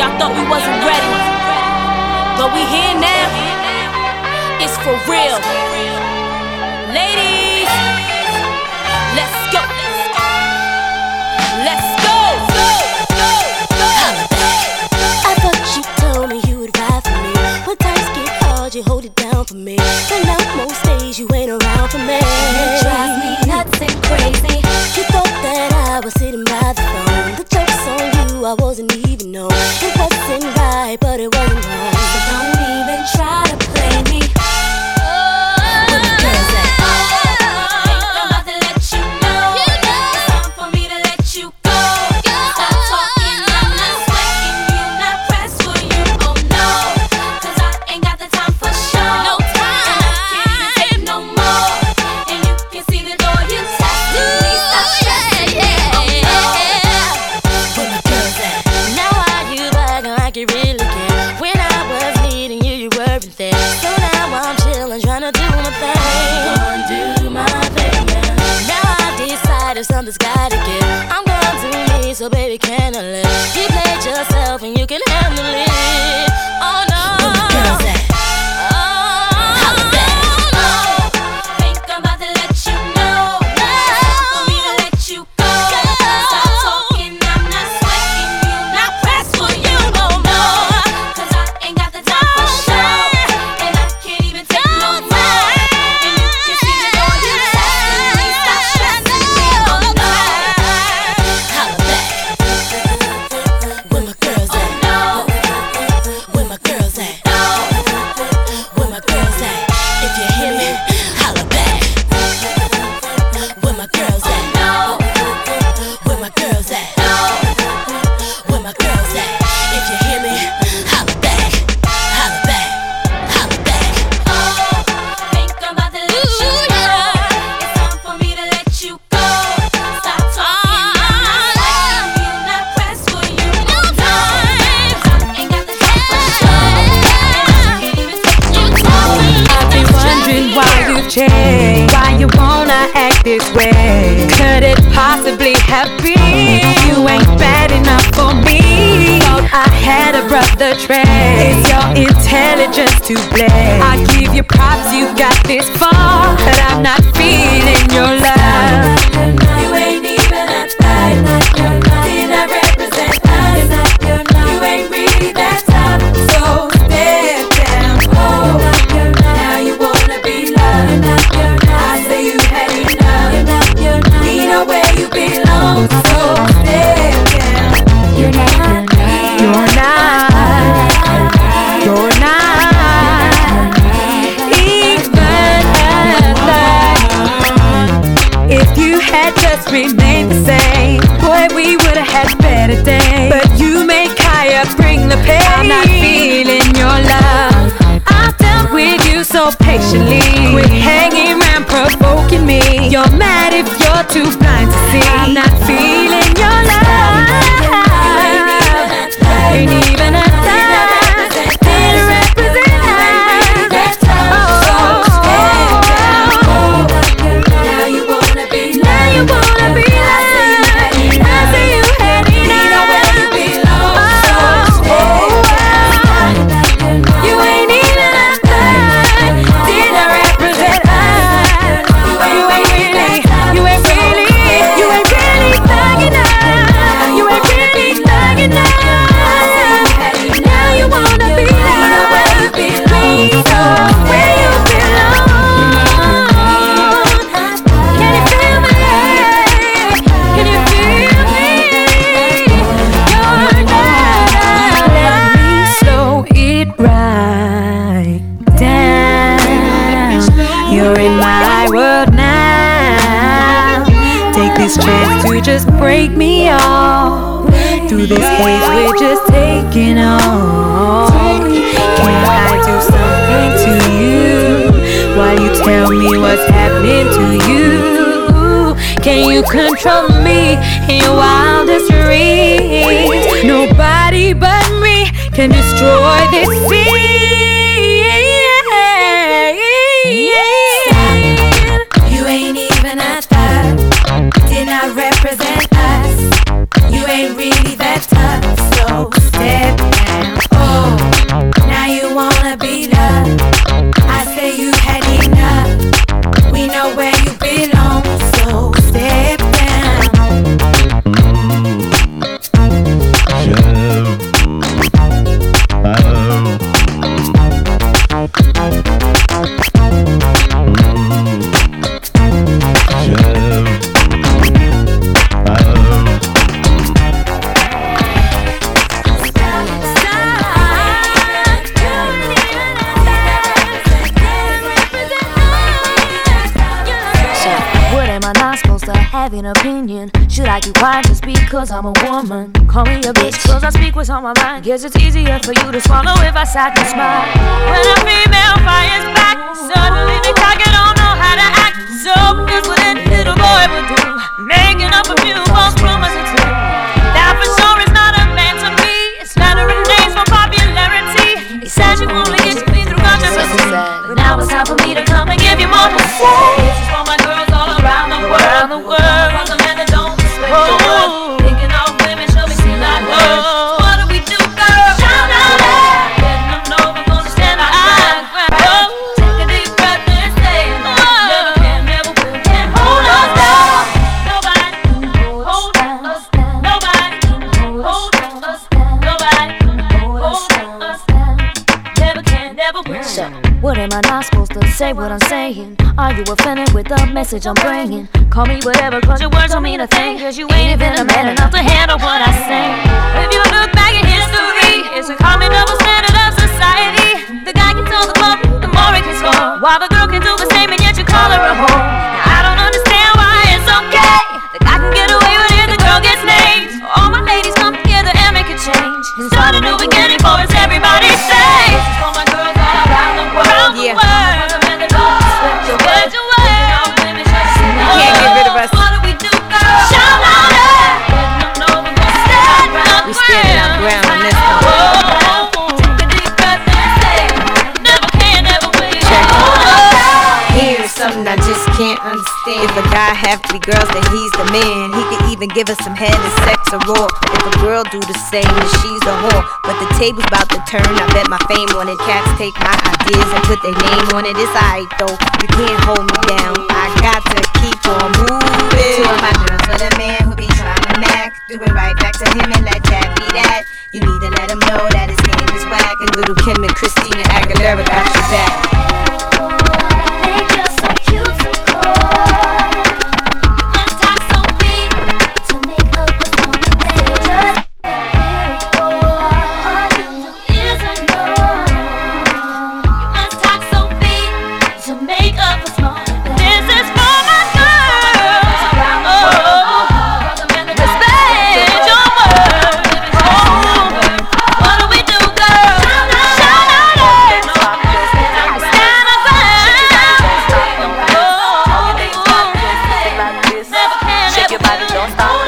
S17: y'all thought we wasn't ready, but we here now. It's for real. Ladies, let's go. Let's go.
S2: I thought you told me you would ride for me. When times get hard, you hold it down for me. But now most days you ain't around for me. It drives me nuts and crazy. You thought that I was sitting by the phone. The joke's on you, I wasn't even on. It wasn't right, but it wasn't wrong. So don't even try to play me. Where my girls at? Think I'm about to let you know. It's time for me to let you go. Stop talking, I'm not sweating you, not pressed for you, oh no. Cause I ain't got the time for show. No time. And I can't even take no more. And you can see the door you testing me. Stop stressing me, oh no. Where my girls at? Now why you bragging like you really care? When I was needing you, you weren't there. So now I'm chillin', tryna do my thing. Gonna do my thing, yeah. Now I decided something's gotta give. I'm gonna do me, so baby, can I live? You played yourself and you can handle it. Oh no. Where my girls at? Holla back. Think I'm about to let you know. It's time for me to let you go. Stop talking, I'm not sweating you, not pressed for you, oh no. Cause I ain't got the time for show. And I can't even take no more. And you can see the door you testing me. Stop stressing me, oh no. Holla back. Where my girls at? Where my girls at? Where my girls at? If you hear me, holla back. Where my girls at? Where my girls at? Where my girls at? If you hear me, holla back. Holla back. Holla back. Oh, think I'm about to let you know. It's time for me to let you go. Stop talking, I'm not sweating you, not pressed for you, no time. Ain't got the time for show. And I can't even take no more.
S5: I've been wondering why you've changed, why you wanna act this way. Could it possibly have been you ain't bad enough for me? Thought I had a brother trait. It's your intelligence to blame. I give you props, you got this far, but I'm not feeling your love.
S2: You ain't even a type. Did I represent us? You ain't really that tough. So step down. Oh, now you wanna be loved. I say you had enough. We know where you belong. So step down. You're not.
S5: You're not. You're not even alive. If you had just remained the same, boy, we would've had better days. But you make Kaya bring the pain. I'm not feeling your love. I've dealt with you so patiently. Quit hanging around provoking me. You're mad if you're too blind to see. I'm not feeling your love. Ain't even a time. Didn't represent us. Oh,
S2: Now you wanna be loved.
S5: now you wanna be loved. I see you had enough. Oh, you ain't even a third. Didn't represent us. You ain't really, you ain't really, you ain't really thug enough. You ain't really thug enough. Now you wanna be loved. Please go where you belong. Can you feel me? Can you feel me? You're not. Let me slow it right down. You're in my world now. Take this chance to just break me off. Through this haze we're just taking on. Can I do something to you while you tell me what's happening to you? Can you control me in your wildest dreams? Nobody but me can destroy this scene.
S2: You ain't even a thug. Did not represent us. You ain't really that tough. So step down. fucking opinion. Should I keep quiet just because I'm a woman? Call me a bitch cause I speak what's on my mind. Guess it's easier for you to swallow if I sat and smile. When a female fires back, suddenly they talk and don't know how to act. So here's what any little boy would do, making up a few false promises. That for sure is not a man to me. It's flattering names for popularity. He says you only get me through controversy, but now it's time for me to come and give you more to say. This is for my girls all around the world. Around the world. For the men that don't respect oh. your words. Thinking all women should be seen like words. Oh. What do we do, girl? Shout out loud. Letting them know we're gonna stand our ground. Oh. Take a deep breath and say, oh. Never can, never will, can hold us down. Nobody can hold us down. Nobody can hold us down. Nobody can hold us down. Never can, never will. So, what am I not supposed to say what I'm saying? Are you offended with the message I'm bringing? Call me whatever cause your words don't mean a thing. Cause you ain't even a man enough to handle what I say. If you look back in history, it's a common double standard of society. The guy can tell the club, the more he can score, while the girl can do the same and yet you call her a whore. Now, I don't understand why it's okay. The guy can get away with it, the girl gets named. All my ladies come together and make a change. And start a new beginning for us, everybody say. This is for my girls all around the world. Yeah.
S18: Can't get rid of us. We standing our ground on this one. Here's something I just can't understand. If a guy have three girls, then he's the man. He could even give us some head and sex a roar. If a girl do the same, then she's a whore. But the table's about to turn, I bet my fame on it. Cats take my ideas and put their name on it. It's alright though, you can't hold me down. I got to keep on moving. Two of my girls with a man who be trying to mac. Do it right back to him and let that be that. You need to let him know that his game is whack. And little Kim and Christina Aguilera got your back.
S2: They just so cute to call. You must talk so big to make up a song. They just very cool. All you do is ignore. You must talk so big to make up a song. This is for my girls around the world. Respect your words. Oh, what do we do, girl? Shout out, shout out. Stand up
S15: Shake your body, don't stop.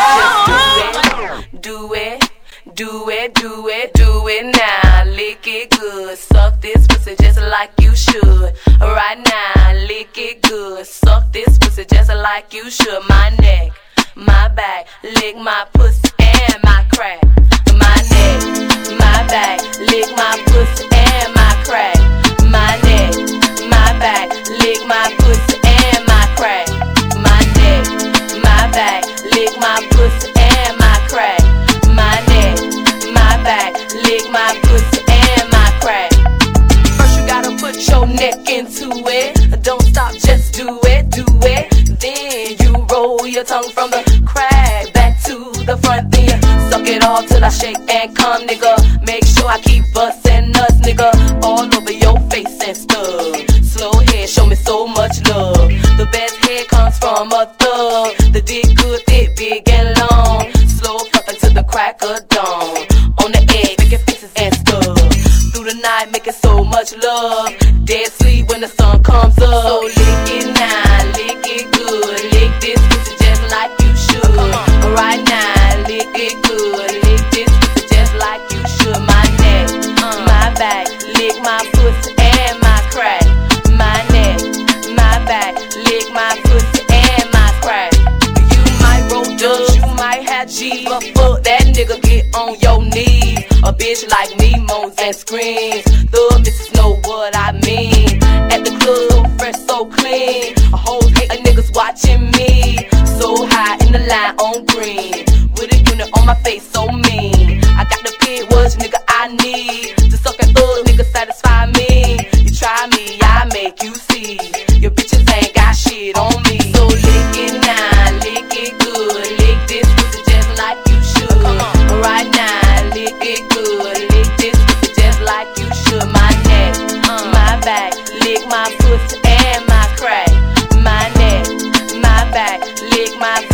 S15: Just do it, do it, do it, do it now. Lick it good, suck this pussy just like you should. Right now, lick it good, suck this pussy just like you should. My neck, my back, lick my pussy and my crack. My neck, my back, lick my pussy and my crack. My neck, my back, lick my pussy and my crack. My neck, my back, lick my pussy and my crack. My neck, my back, lick my pussy and my crack. First you gotta put your neck into it. Don't stop, just do it, do it. Then you roll your tongue from the crack back to the front. Then you suck it all till I shake and come, nigga. Make sure I keep bustin' nuts, nigga, all over your face and stuff. Slow head, show me so much love. The best head comes from a thug. The dick good, thick, big and long. Slow fuckin' to the crack of dawn. On the edge, making faces and stuff. Through the night, making so much love. Dead sleep when the sun comes up. So lick it now, lick it good. Lick this pussy just like you should. Right now, lick it good. Lick this pussy just like you should. My neck, my back, lick my pussy and my crack. My neck, my back, lick my pussy and my crack. You might roll dubs, you might have G, but fuck that nigga, get on your knees. A bitch like me moans and screams. The missus know what I mean. At the club, so fresh, so clean. A whole hate of niggas watching me. So high in the line on green. With a unit on my face, so mean. I got the pit, what nigga I need. To suck and thug, nigga satisfy me. You try me, I make you see. Your bitches ain't got shit on me. So lick it now, lick it good. Lick this pussy just like you should. Right now, lick it good. Lick this pussy just like you should. My neck, my back, lick my pussy and my crack. My neck, my back, lick my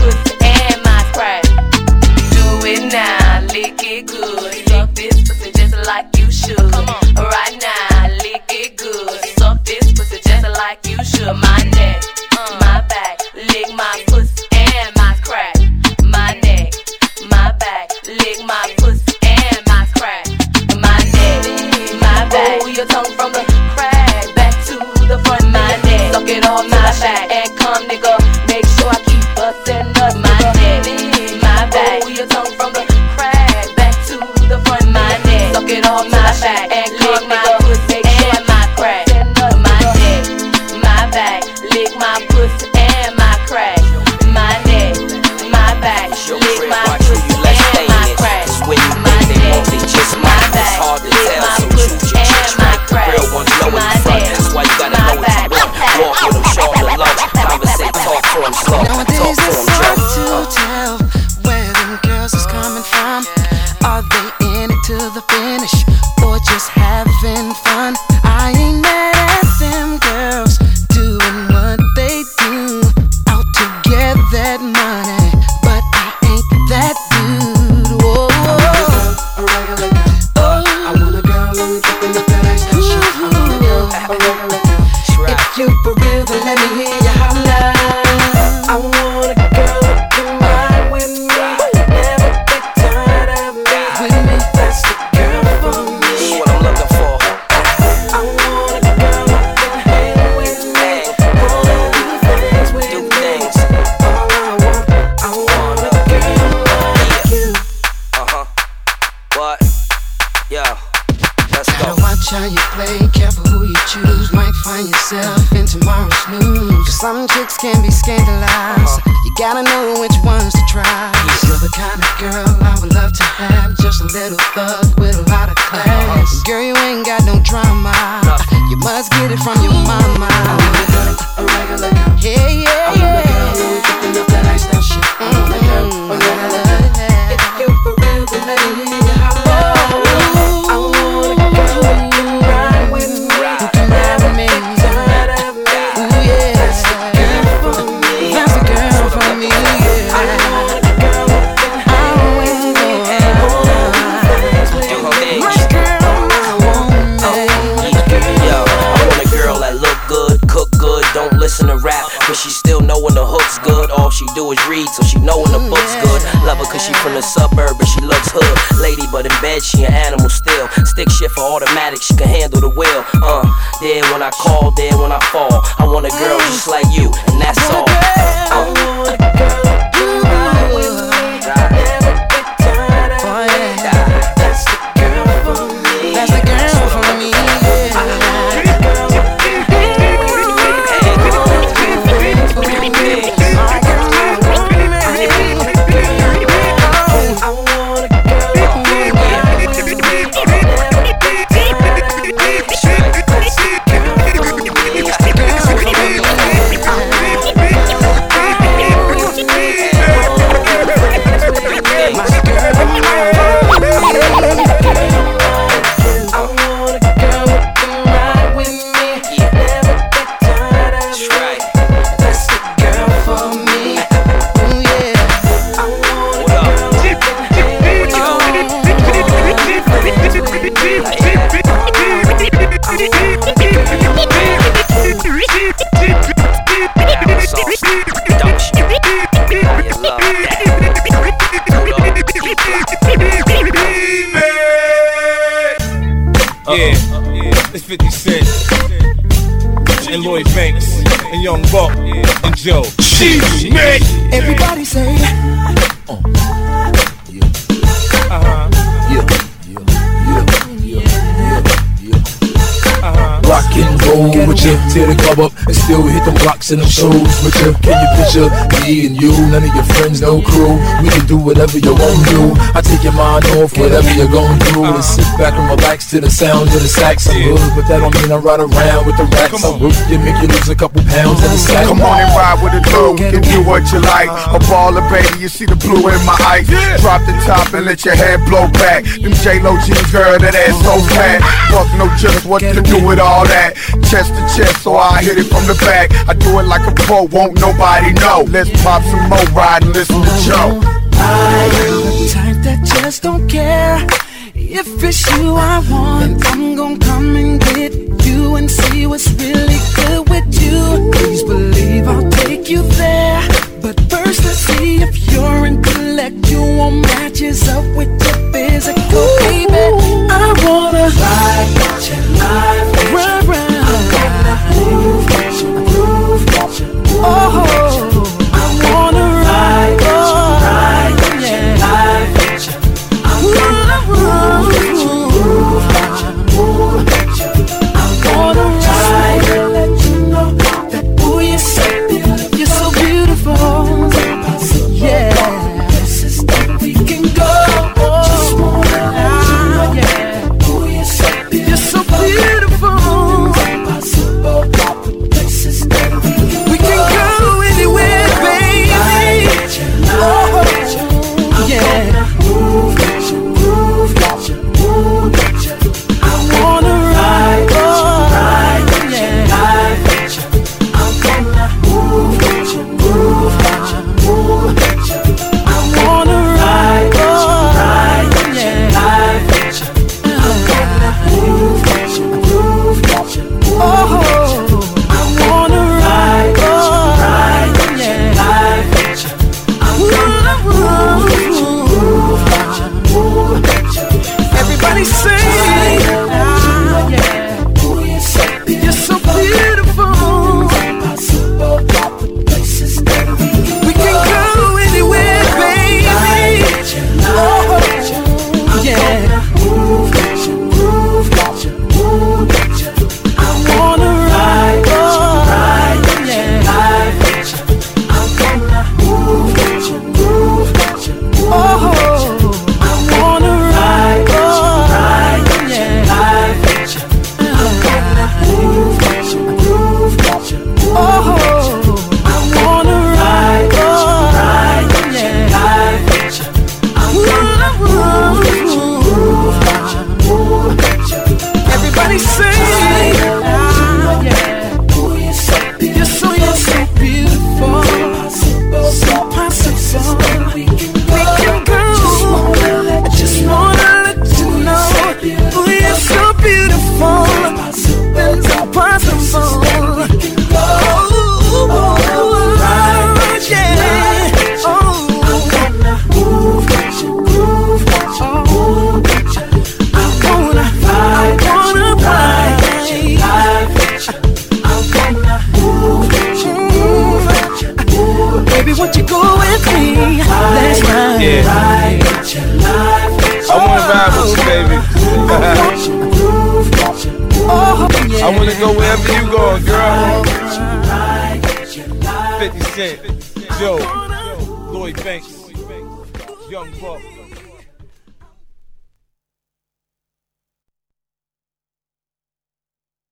S6: It's your crib, watch who you let stay in it. Cause when you think they won't, they just might. It's hard to tell, so choose your church right. The real ones know in the front, that's why you gotta know what you want. Walk with them, show them the love. Conversate, talk to them slow. Talk to them
S12: hard
S6: slow.
S12: to tell where them girls is coming from. Are they in it to the finish or just having fun? I ain't mad at them girls doing what they do, out to get that money, but I ain't that dude. Whoa, whoa. A regular girl. Oh, I want a girl who is up in the face. I want a girl, a regular girl. If you for real, then let me hear you holler. I want a girl who can ride with me, never get tired of me. With me, that's the girl for me.
S6: This is what I'm looking for.
S12: I want a girl who can hang with me, wanna do things with
S6: Do
S12: me.
S6: things.
S12: All I want, I want a girl like you.
S6: Uh huh. What? Yo. Let's
S12: Gotta
S6: go.
S12: watch how you play, careful who you choose. Might find yourself in tomorrow's snooze. Cause some chicks can be scandalized. You gotta know which ones to try. You're the kind of girl I would love to have. Just a little thug with a lot of class. Girl, you ain't got no drama. You must get it from your mama. I want a girl, a regular girl. Yeah, yeah, I want a girl who is picking up that lifestyle shit. I want a girl, a regular girl. If you for real, then let me hear you holler. I want a girl who can ride with me, who can ride with me, tired of me. Ooh yeah, that's the girl for me. That's the girl for me. Yeah. I want a girl who can hang with me, wanna do things with
S6: Do
S12: me.
S6: her thing.
S12: My girl, my woman.
S6: Yo, I want a girl that look good, cook good, don't listen to rap, but she still know when the hook's good. All she do is read, so she know when the book's good. Love her cause she from the suburb, but she looks hood. Lady, but in bed she an animal still. Stick shift for automatic, she can handle the wheel. Uh, there when I call, there when I fall. I want a girl just like you, and that's all.
S12: I want a girl who can ride with me, never get tired of me. That's the girl for me. That's the girl for me. Yeah. I want a girl who can hang with me, wanna do things with me. My girl, my woman. I want a girl who can ride with me, never get tired of me. That's the girl for me. That's the girl for me. I want a girl.
S19: Yeah, it's fifty Cent and Lloyd Banks and Young Buck and Joe. She's mad.
S12: Everybody say,
S19: uh huh.
S20: Rock and roll with you, tear the club up and still hit them blocks and them shows with you. Can you picture me and you, none of your friends, no crew? We can do whatever you want to do. I take your mind off whatever you're going through and sit back and relax to the sound of the sax. I'm good, but that don't mean I ride around with the racks. I work you, make you lose a couple pounds in the sack.
S21: Come on and ride with a girl who can do what you like. A baller, baby, you see the blue in my eyes. Drop the top and let your hair blow back. Them J-Lo jeans, girl, that ass so fat. Fuck no just what to do with all that. Chest to chest, so I hit it from the back. I do it like a pro, won't nobody know. Let's pop some more, ride and listen to Joe.
S12: I am the type that just don't care. If it's you I want, I'm gon' come and get you and see what's really good with you. Please believe I'll take you there. But first let's see if your intellectual matches up with your physical, baby. I wanna ride with you, ride with you. Ride, ride. I'm gonna move with you, move with you, move oh, with you. I wanna ride with you, ride with you, ride with you. I'm gonna move with you, move with you, move with you. I'm gonna ride and let you know that ooh, you're so beautiful, you're so beautiful. can go. Just wanna let you know, yeah. Ooh, you're so beautiful. You're so beautiful. Impossible, places that we can We can go anywhere, baby. Oh, yeah.
S10: Move, get you, move, get you, move, get you.
S12: I wanna ride, ride, yeah.
S10: Ride with you. I'm gonna move, get you, move, get you, move, get you.
S12: I wanna ride,
S10: ride,
S12: yeah.
S10: Ride with you. I'm gonna move, get you, move, get you, move,
S12: Oh, I wanna ride,
S10: ride,
S12: yeah.
S10: ride with you. I'm gonna move, get you, move, get you, move, get you.
S12: Everybody sing, ah, yeah.
S10: Ooh, you're so
S12: You're so beautiful.
S10: impossible, places that we can
S12: We can go anywhere, baby. Oh, yeah.
S10: move, get you, move, get you, move, get you.
S12: I wanna ride,
S10: ride,
S12: yeah.
S10: ride with you. I'm gonna move, get you, move, get you, move,
S12: Oh,
S10: get you.
S12: I wanna ride,
S10: ride,
S12: yeah.
S10: ride with you. I'm gonna move, get you, move, get you, move,
S12: Oh,
S10: get you.
S12: I wanna ride,
S10: ride,
S12: yeah.
S10: ride with you. I'm gonna move, get you, move, get you, move, get you.
S12: Everybody sing, ah, yeah.
S10: Ooh, you're so
S12: You're so, you're so beautiful. So possible.
S10: we can
S12: We can go. I just wanna let you know. Oh, you're so beautiful. Things impossible. Oh, yeah. Oh,
S10: move, get you, move, get you, move, get you.
S12: I wanna, I wanna ride.
S10: Ride with you. I'm gonna move, get you, move, get you, move.
S12: Baby, won't you go with me? Let's ride.
S19: Yeah.
S10: Ride with you, ride with
S19: I wanna ride with you, baby.
S10: you, move, get you, move.
S12: Oh, yeah.
S19: I wanna go wherever you going, girl.
S10: Ride with you, ride
S19: fifty Cent, Joe, Lloyd Banks, Young Buck.